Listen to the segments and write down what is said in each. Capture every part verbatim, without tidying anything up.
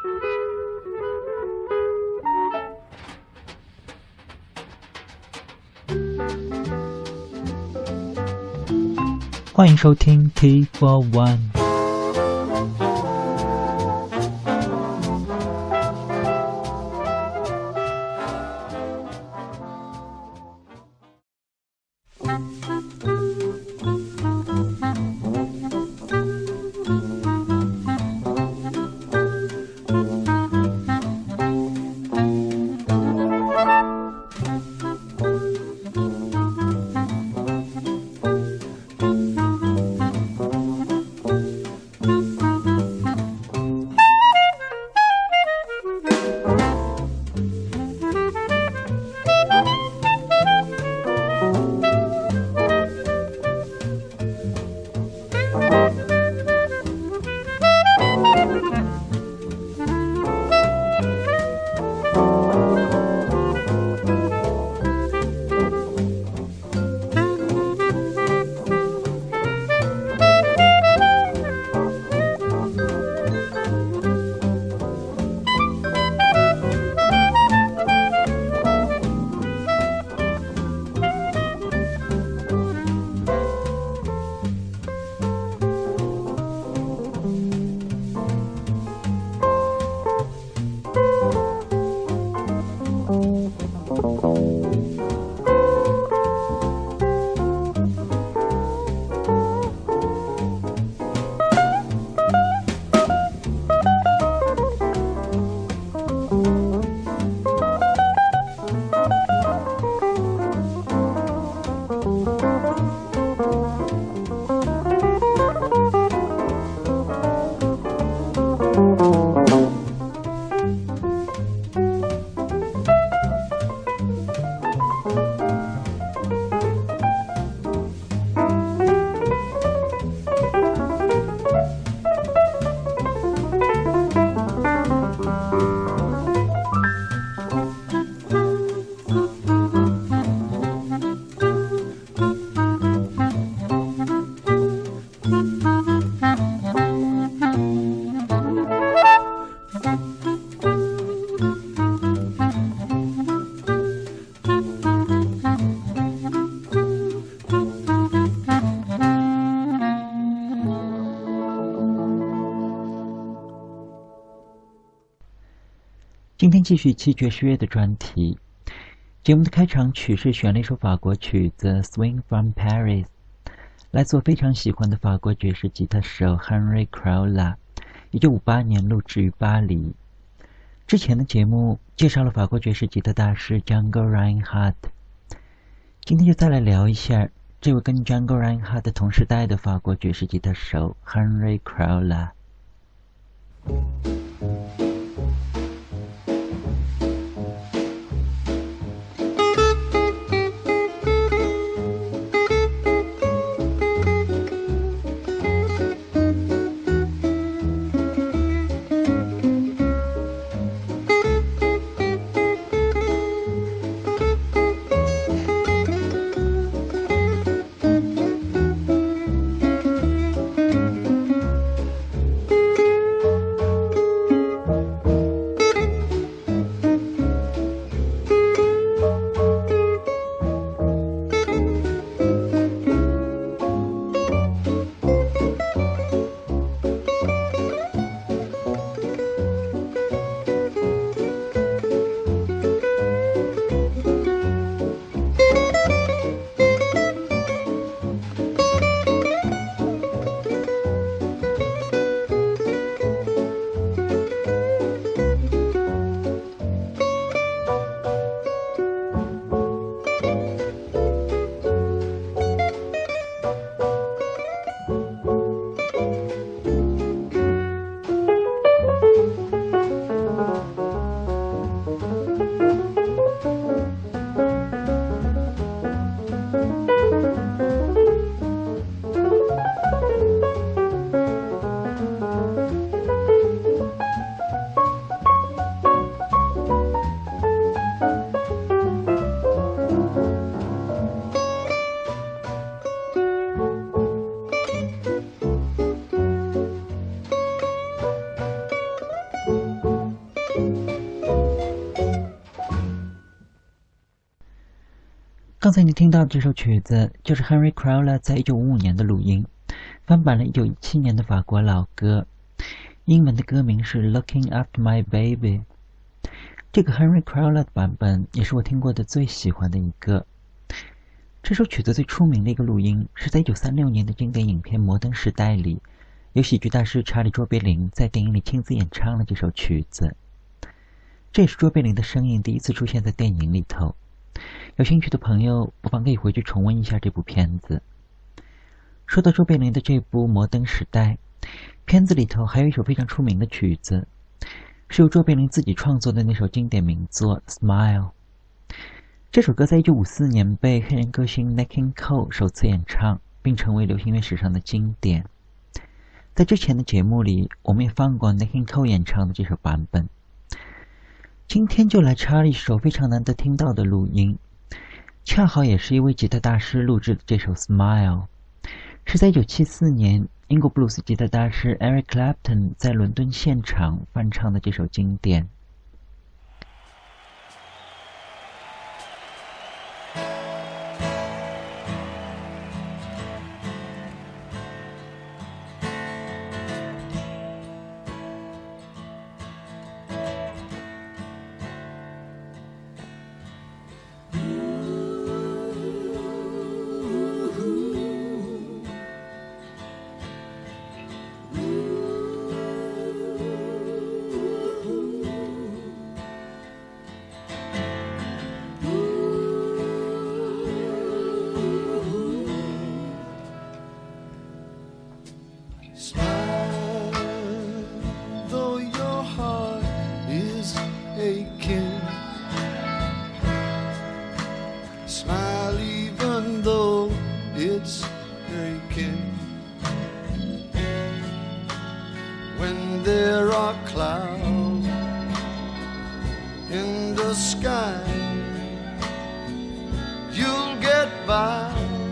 欢迎收听 T for One。今天继续七爵士乐的专题。节目的开场曲是选了一首法国曲子《Swing from Paris》，来自我非常喜欢的法国爵士吉他手 Henry Crowla， 一九五八年录制于巴黎。之前的节目介绍了法国爵士吉他大师 Django Reinhardt， 今天就再来聊一下这位跟 Django Reinhardt 同时代的法国爵士吉他手 Henry Crowla。 才你听到的这首曲子就是 Henry Crowler 在一九五五年的录音，翻版了一九一七年的法国老歌，英文的歌名是 Looking After My Baby。 这个 Henry Crowler 的版本也是我听过的最喜欢的一个。这首曲子最出名的一个录音是在一九三六年的经典影片《摩登时代》里，由喜剧大师查理·卓别林在电影里亲自演唱了这首曲子。这也是卓别林的声音第一次出现在电影里头。有兴趣的朋友不妨可以回去重温一下这部片子。说到卓别林的这部《摩登时代》，片子里头还有一首非常出名的曲子，是由卓别林自己创作的那首经典名作《Smile》。这首歌在一九五四年被黑人歌星 Nat King Cole 首次演唱，并成为流行乐史上的经典。在之前的节目里，我们也放过 Nat King Cole 演唱的这首版本。今天就来插一首非常难得听到的录音，恰好也是一位吉他大师录制的这首 Smile， 是在一九七四年英国布鲁斯吉他大师 Eric Clapton 在伦敦现场翻唱的这首经典。 Smile even though it's breaking. When there are clouds in the sky, you'll get by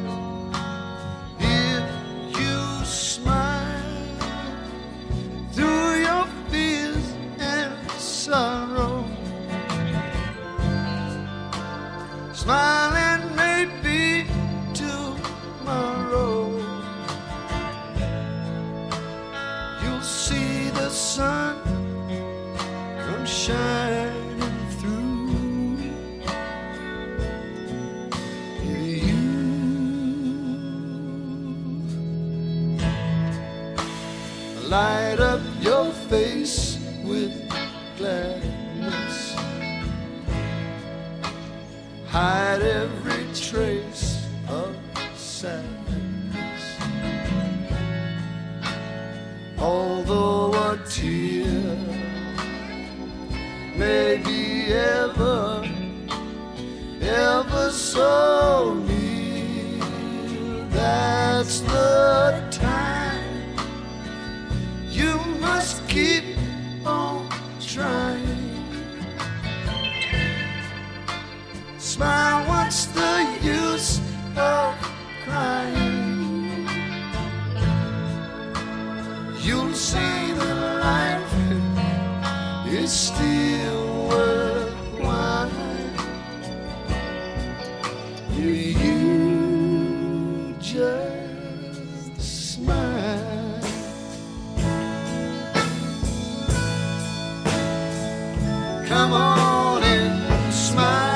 if you smile through your fears and sorrow. Smile and maybe tomorrow you'll see the sun come shining through. You light up your face with gladness, hide every trace of sadness. Although a tear may be ever, ever so near, that's the time you must keep on trying. Smile, what's the use of crying? You'll see that life is still worthwhile. You just smile. Come on and smile.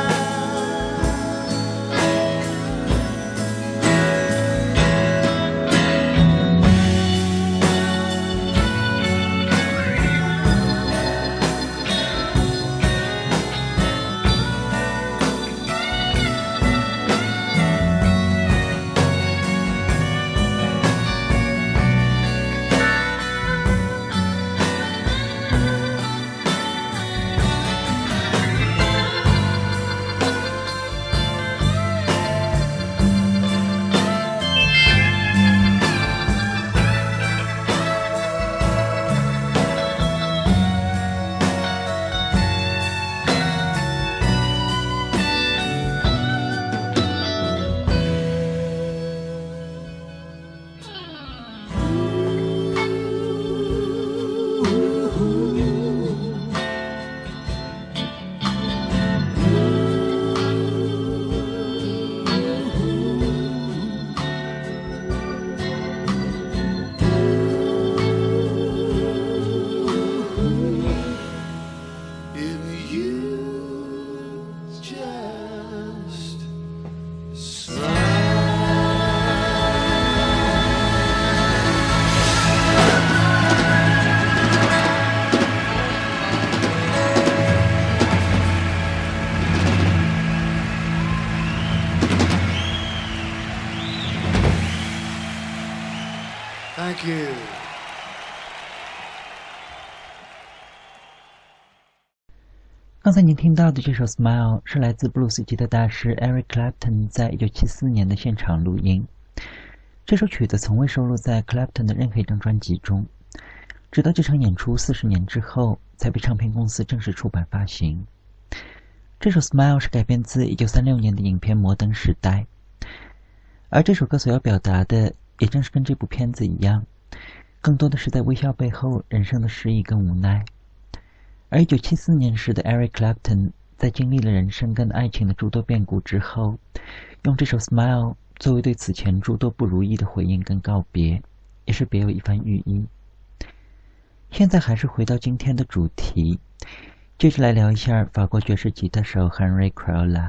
刚才您听到的这首《Smile》是来自布鲁斯吉他大师 Eric Clapton 在一九七四年的现场录音。这首曲子从未收录在 Clapton 的任何一张专辑中，直到这场演出四十年之后才被唱片公司正式出版发行。这首《Smile》是改编自一九三六年的影片《摩登时代》，而这首歌所要表达的也正是跟这部片子一样，更多的是在微笑背后人生的失意跟无奈。而一九七四年时的 Eric Clapton 在经历了人生跟爱情的诸多变故之后，用这首 Smile 作为对此前诸多不如意的回应跟告别，也是别有一番寓意。现在还是回到今天的主题，接着来聊一下法国爵士吉他手 Henry Crolla。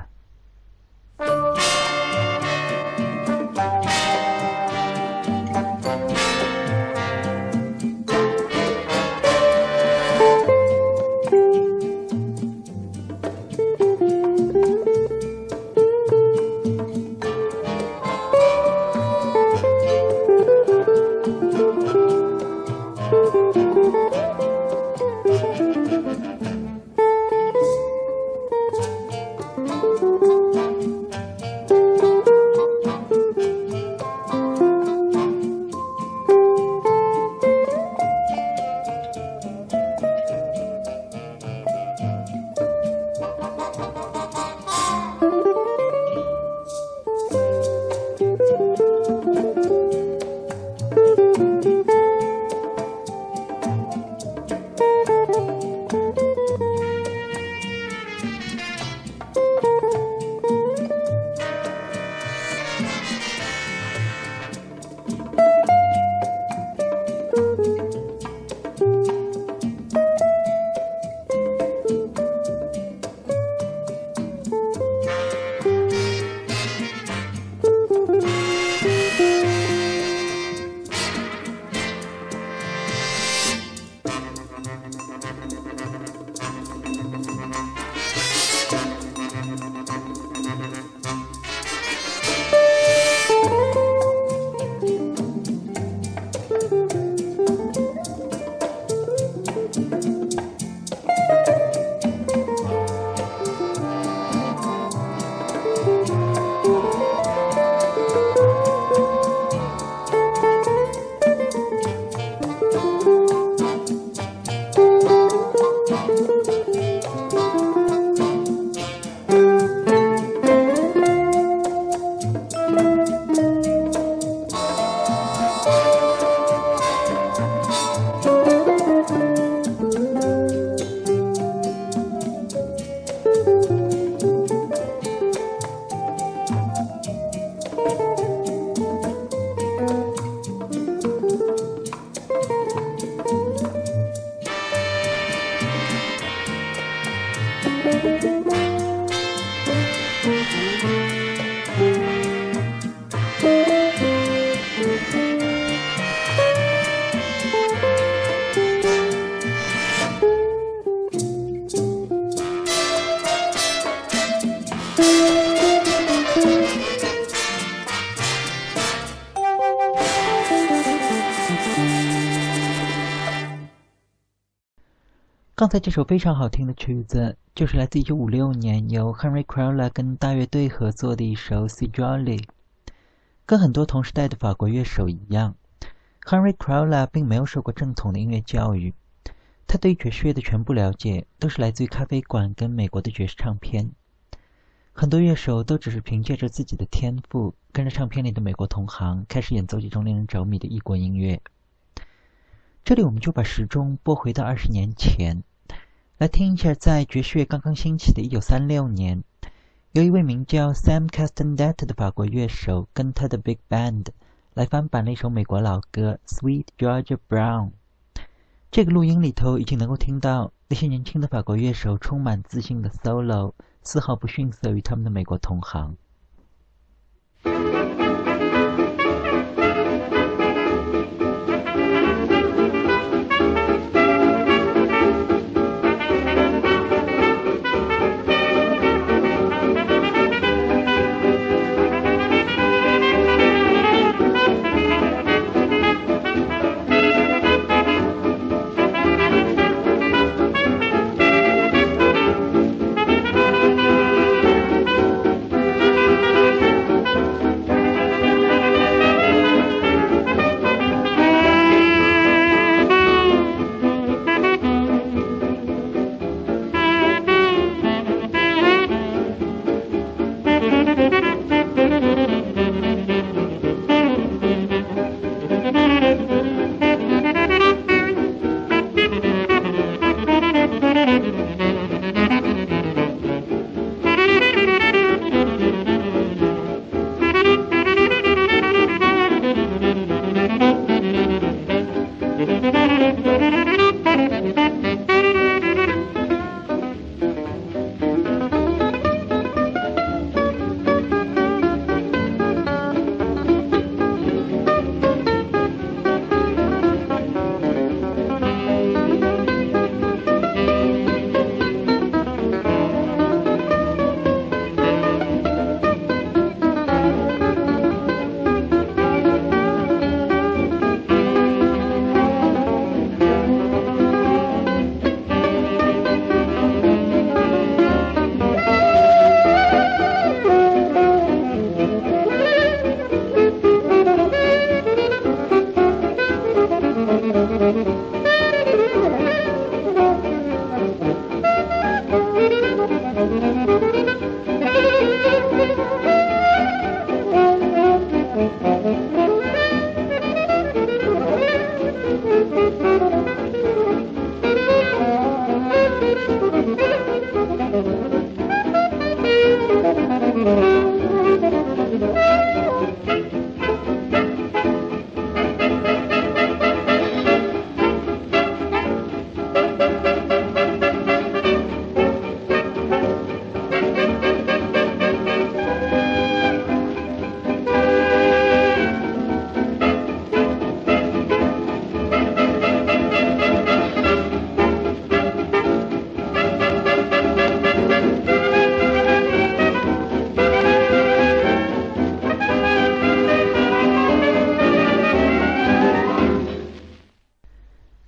刚才这首非常好听的曲子，就是来自一九五六年由 Henry Crolla 跟大乐队合作的一首 C Jolly。跟很多同时代的法国乐手一样， Henry Crolla 并没有受过正统的音乐教育，他对爵士乐的全部了解都是来自于咖啡馆跟美国的爵士唱片。很多乐手都只是凭借着自己的天赋，跟着唱片里的美国同行开始演奏这种令人着迷的异国音乐。这里我们就把时钟拨回到二十年前，来听一下在爵士乐刚刚兴起的一九三六年，由一位名叫 Sam Castandet 的法国乐手跟他的 Big Band 来翻版了一首美国老歌 Sweet Georgia Brown。 这个录音里头已经能够听到那些年轻的法国乐手充满自信的 solo， 丝毫不逊色于他们的美国同行。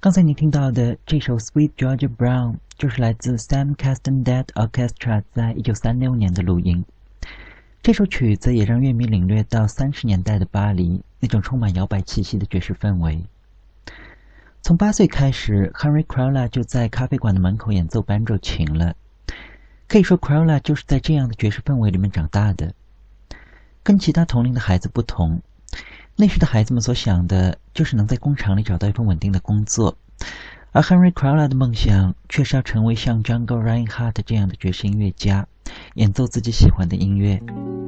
刚才你听到的这首《Sweet Georgia Brown》就是来自 Sam Castandet Orchestra 在一九三六年的录音。这首曲子也让乐迷领略到三十年代的巴黎那种充满摇摆气息的爵士氛围。从八岁开始 Henry Crowler 就在咖啡馆的门口演奏 banjo 琴了。可以说 Crowler 就是在这样的爵士氛围里面长大的。跟其他同龄的孩子不同，那时的孩子们所想的就是能在工厂里找到一份稳定的工作，而 Henry Crowler 的梦想却是要成为像 Django Reinhardt 这样的爵士音乐家，演奏自己喜欢的音乐。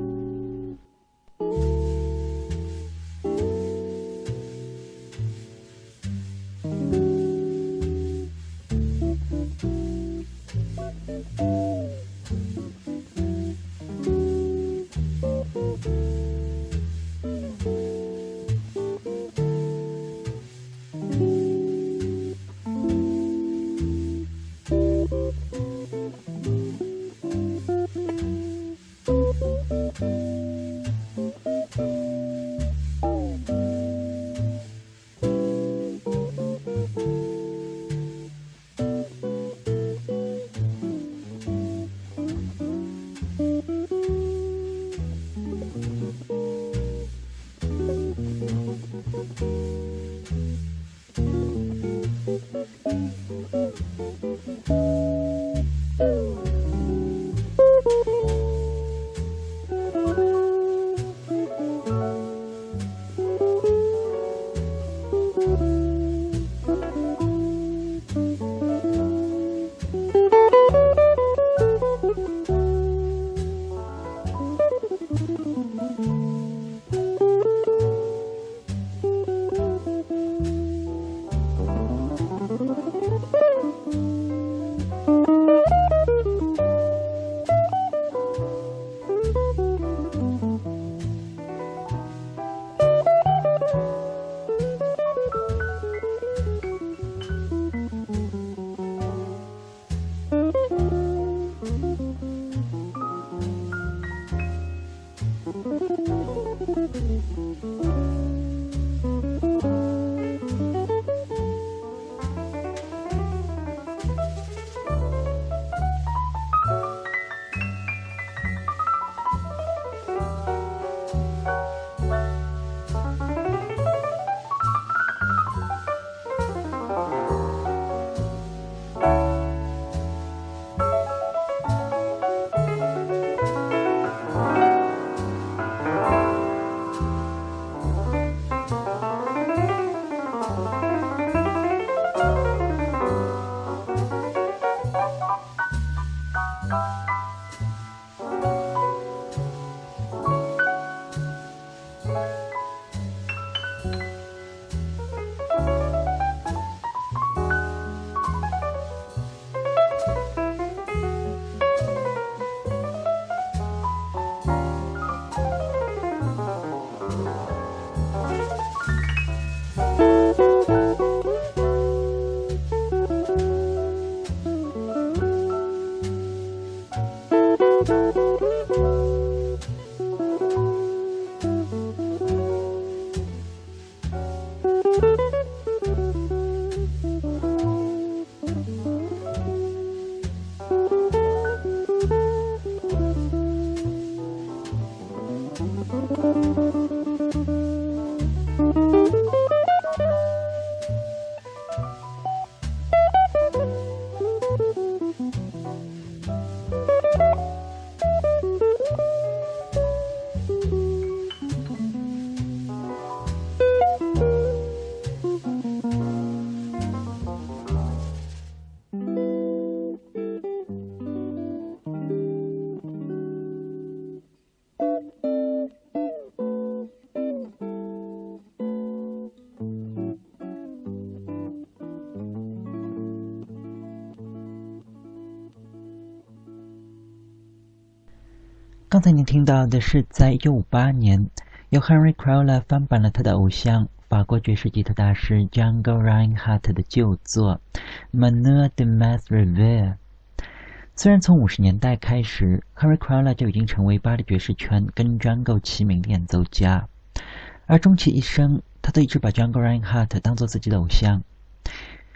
刚才您听到的是在一九五八年由 Henry Crowler 翻版了他的偶像法国爵士吉他大师 Django Reinhardt 的旧作 Manoir de Math Revere。 虽然从五十年代开始 Henry Crowler 就已经成为巴黎爵士圈跟 Django 齐名的演奏家，而终其一生他都一直把 Django Reinhardt 当作自己的偶像。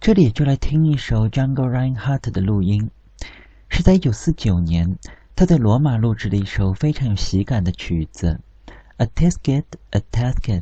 这里就来听一首 Django Reinhardt 的录音，是在一九四九年他在罗马录制的一首非常有喜感的曲子 A Tisket, A Tasket。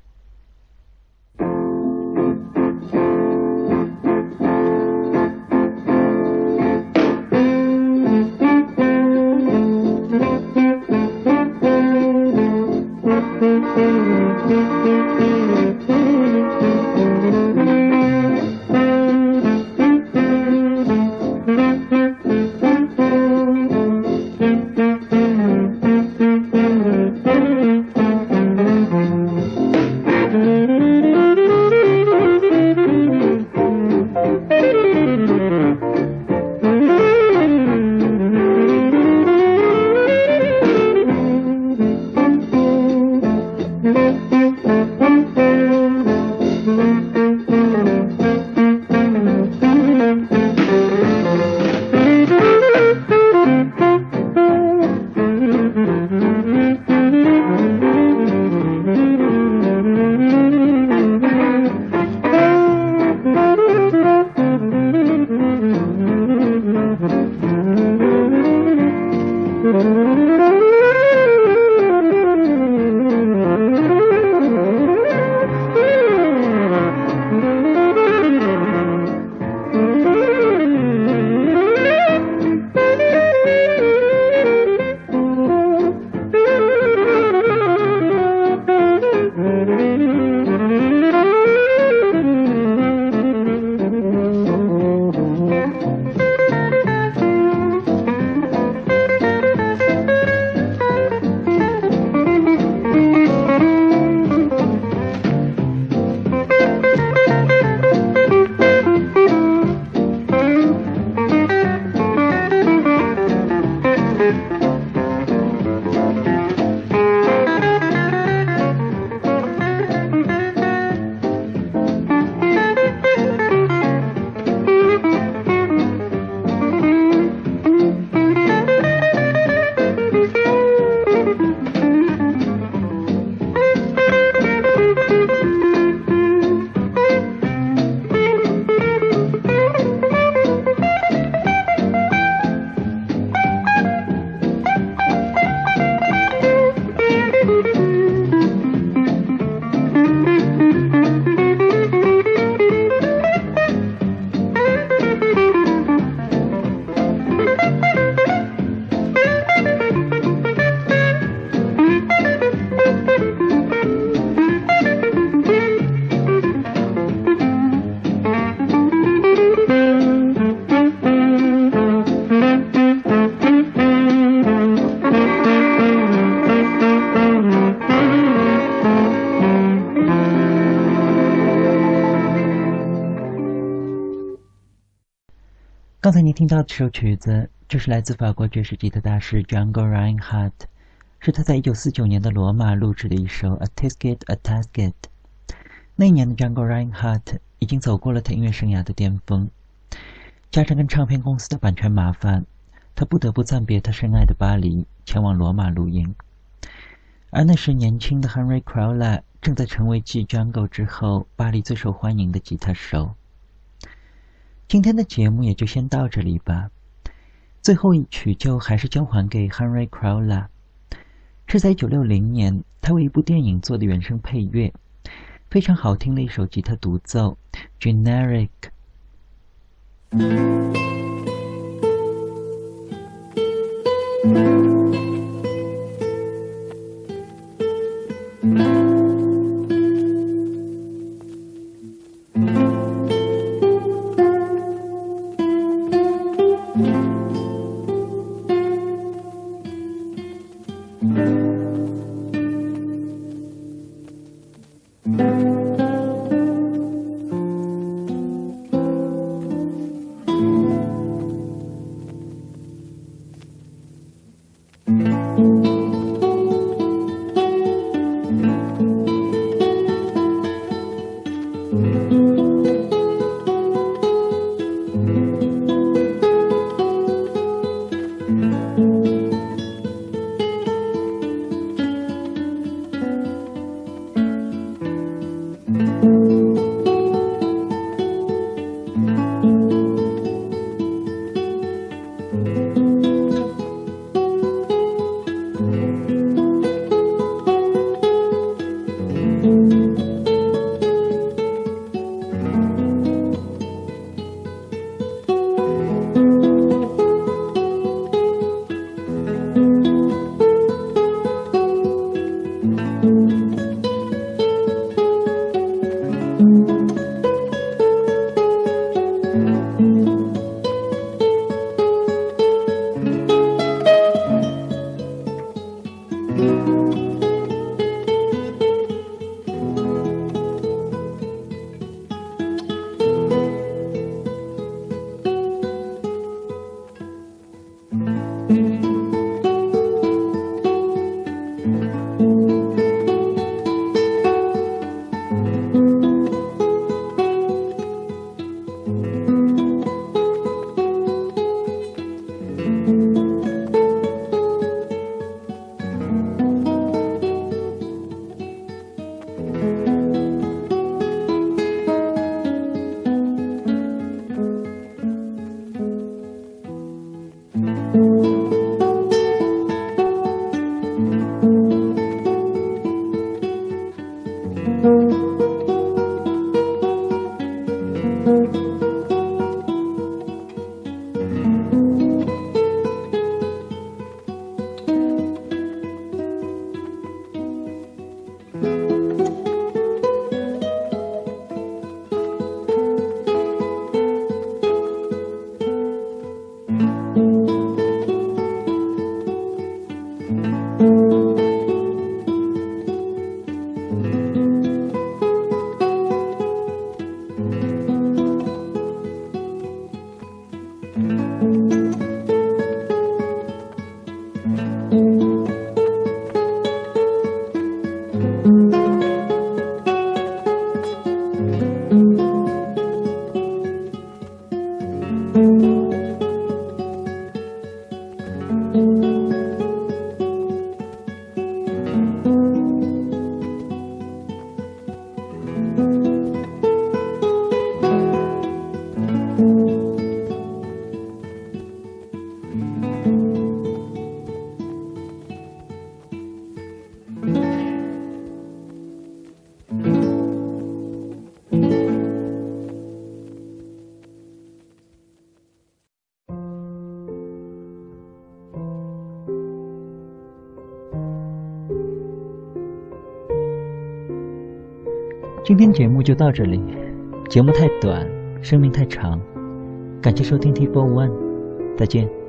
刚才你听到的这首曲子，就是来自法国爵士吉他大师 Django Reinhardt， 是他在一九四九年的罗马录制的一首 A Tisket, A Tasket。 那一年的 Django Reinhardt 已经走过了他音乐生涯的巅峰，加上跟唱片公司的版权麻烦，他不得不暂别他深爱的巴黎，前往罗马录音。而那时年轻的 Henry Crowler 正在成为继 Django 之后巴黎最受欢迎的吉他手。今天的节目也就先到这里吧，最后一曲就还是交还给 Henry Crowler， 是在一九六零年他为一部电影做的原声配乐，非常好听的一首吉他独奏 Generic。 Thank you. 今天节目就到这里，节目太短，生命太长，感谢收听 T 四十一，再见。